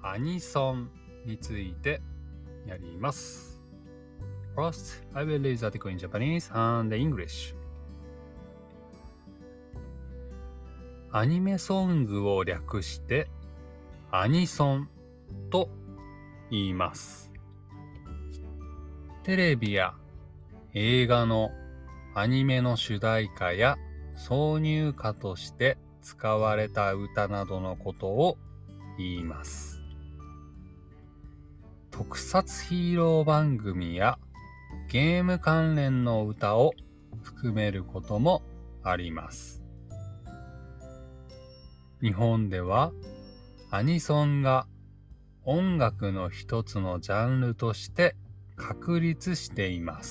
アニソンについてやります。First, I will read the article in Japanese and English. アニメソングを略してアニソンと言います。テレビや映画のアニメの主題歌や挿入歌として使われた歌などのことを言います。特撮ヒーロー番組やゲーム関連の歌を含めることもあります。日本ではアニソンが音楽の一つのジャンルとして確立しています。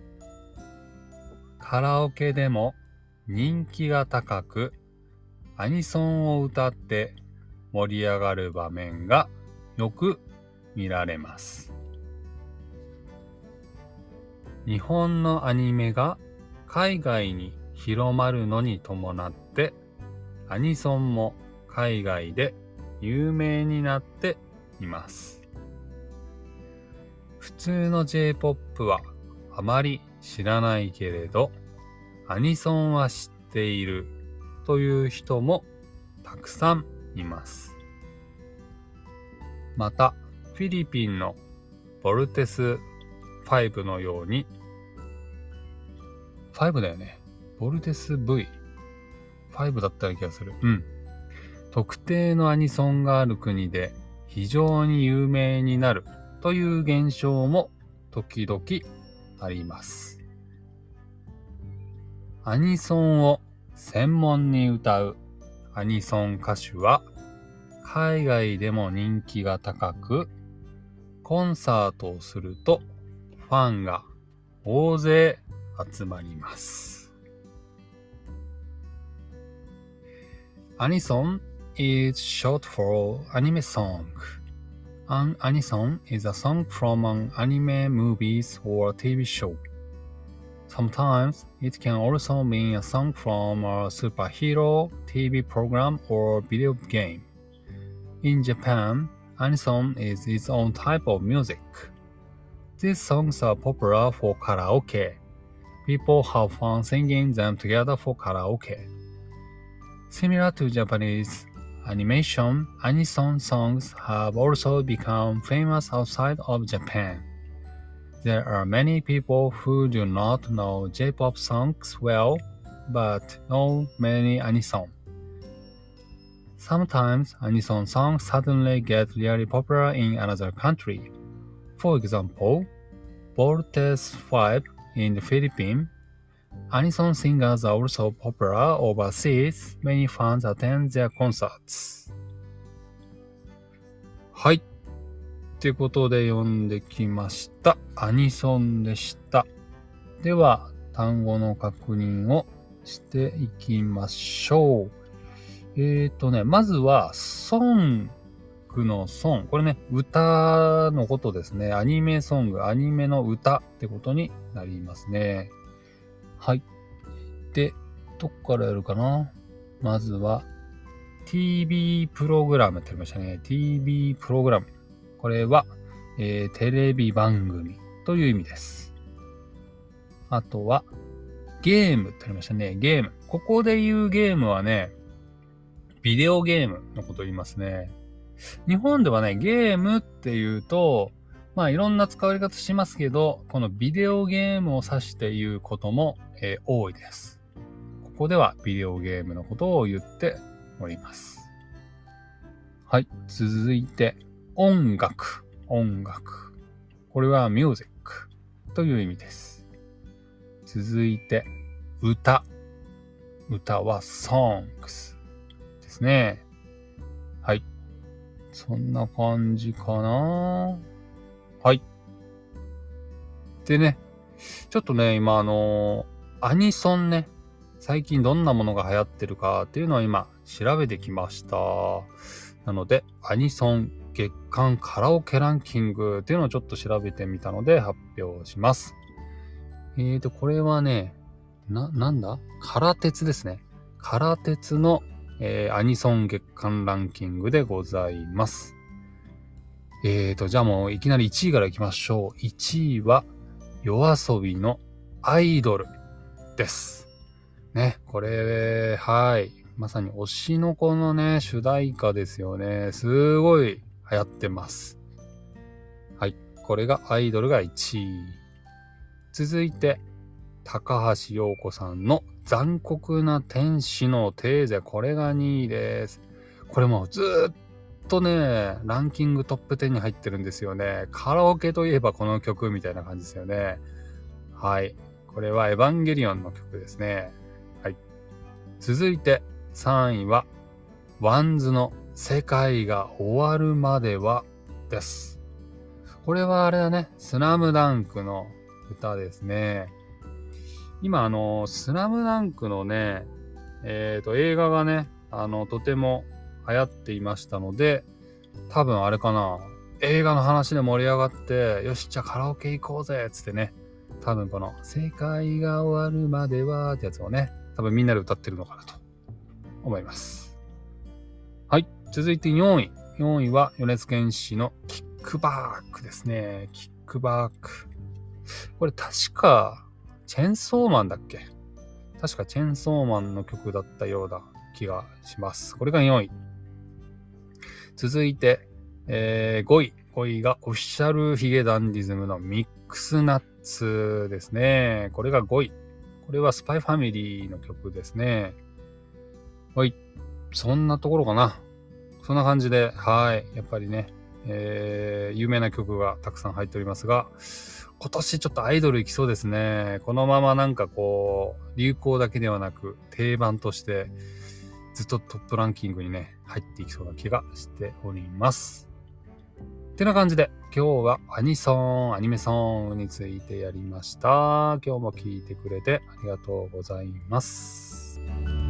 カラオケでも人気が高く、アニソンを歌って盛り上がる場面がよく見られます。日本のアニメが海外に広まるのに伴って、アニソンも海外で有名になっています。普通の J-POP はあまり知らないけれど、アニソンは知っているという人もたくさんいます。また、フィリピンのボルテス5のように、5だよね。ボルテス V。5だったような気がする。特定のアニソンがある国で非常に有名になるという現象も時々あります。アニソンを専門に歌うアニソン歌手は海外でも人気が高く、コンサートをするとファンが大勢集まります。アニソン is short for anime song. An anison is a song from an anime movies or TV show. Sometimes it can also mean a song from a superhero TV program or video game. In Japan, anison is its own type of music. These songs are popular for karaoke. People have fun singing them together for karaoke. Similar to Japanese animation, anison songs have also become famous outside of Japan. There are many people who do not know J-pop songs well, but know many anison. Sometimes anison songs suddenly get really popular in another country. For example, Voltes 5 in the Philippines, anison singers are also popular overseas. Many fans attend their concerts. はい。ということで読んできました。アニソンでした。では、単語の確認をしていきましょう。まずは、ソングのソン。これね、歌のことですね。アニメソング、アニメの歌ってことになりますね。はい。で、どこからやるかな？まずは、TV プログラムって言いましたね。TV プログラム。これは、テレビ番組という意味です。あとは、ゲームって言いましたね。ゲーム。ここで言うゲームはね、ビデオゲームのことを言いますね。日本ではね、ゲームっていうと、いろんな使われ方しますけど、このビデオゲームを指して言うことも、多いです。ここではビデオゲームのことを言っております。はい。続いて、音楽。これはミュージックという意味です。続いて、歌は songs ですね。はい。そんな感じかな。はい。でね、ちょっとね、今アニソンね、最近どんなものが流行ってるかっていうのを今調べてきました。なので、アニソン月間カラオケランキングっていうのをちょっと調べてみたので発表します。これはね、なんだ？カラテツですね。カラテツの、アニソン月間ランキングでございます。 じゃあもういきなり1位からいきましょう。1位は、YOASOBIのアイドルです。ね、これ、はい。まさに推しの子のね、主題歌ですよね。すごい流行ってます。はい。これがアイドルが1位。続いて、高橋洋子さんの残酷な天使のテーゼ。これが2位です。これもずっとね、ランキングトップ10に入ってるんですよね。カラオケといえばこの曲みたいな感じですよね。はい。これはエヴァンゲリオンの曲ですね。はい。続いて3位は、ワンズの世界が終わるまではです。これはあれだね、スラムダンクの歌ですね。今スラムダンクのね、映画がね、とても流行っていましたので、多分あれかな、映画の話で盛り上がって、よし、じゃあカラオケ行こうぜっつってね、多分この世界が終わるまではってやつをね、多分みんなで歌ってるのかなと思います。はい、続いて4位。4位は米津玄師のキックバックですね。キックバック。これ確か、チェンソーマンだっけ？確かチェンソーマンの曲だったような気がします。これが4位。続いて、5位。5位がオフィシャルヒゲダンディズムのミックスナッツですね。これが5位。これはスパイファミリーの曲ですね。はい。そんなところかな。そんな感じで、はい。やっぱりね、有名な曲がたくさん入っておりますが、今年ちょっとアイドル行きそうですね。このままなんかこう、流行だけではなく、定番として、ずっとトップランキングにね、入っていきそうな気がしております。ってな感じで、今日はアニメソングについてやりました。今日も聞いてくれてありがとうございます。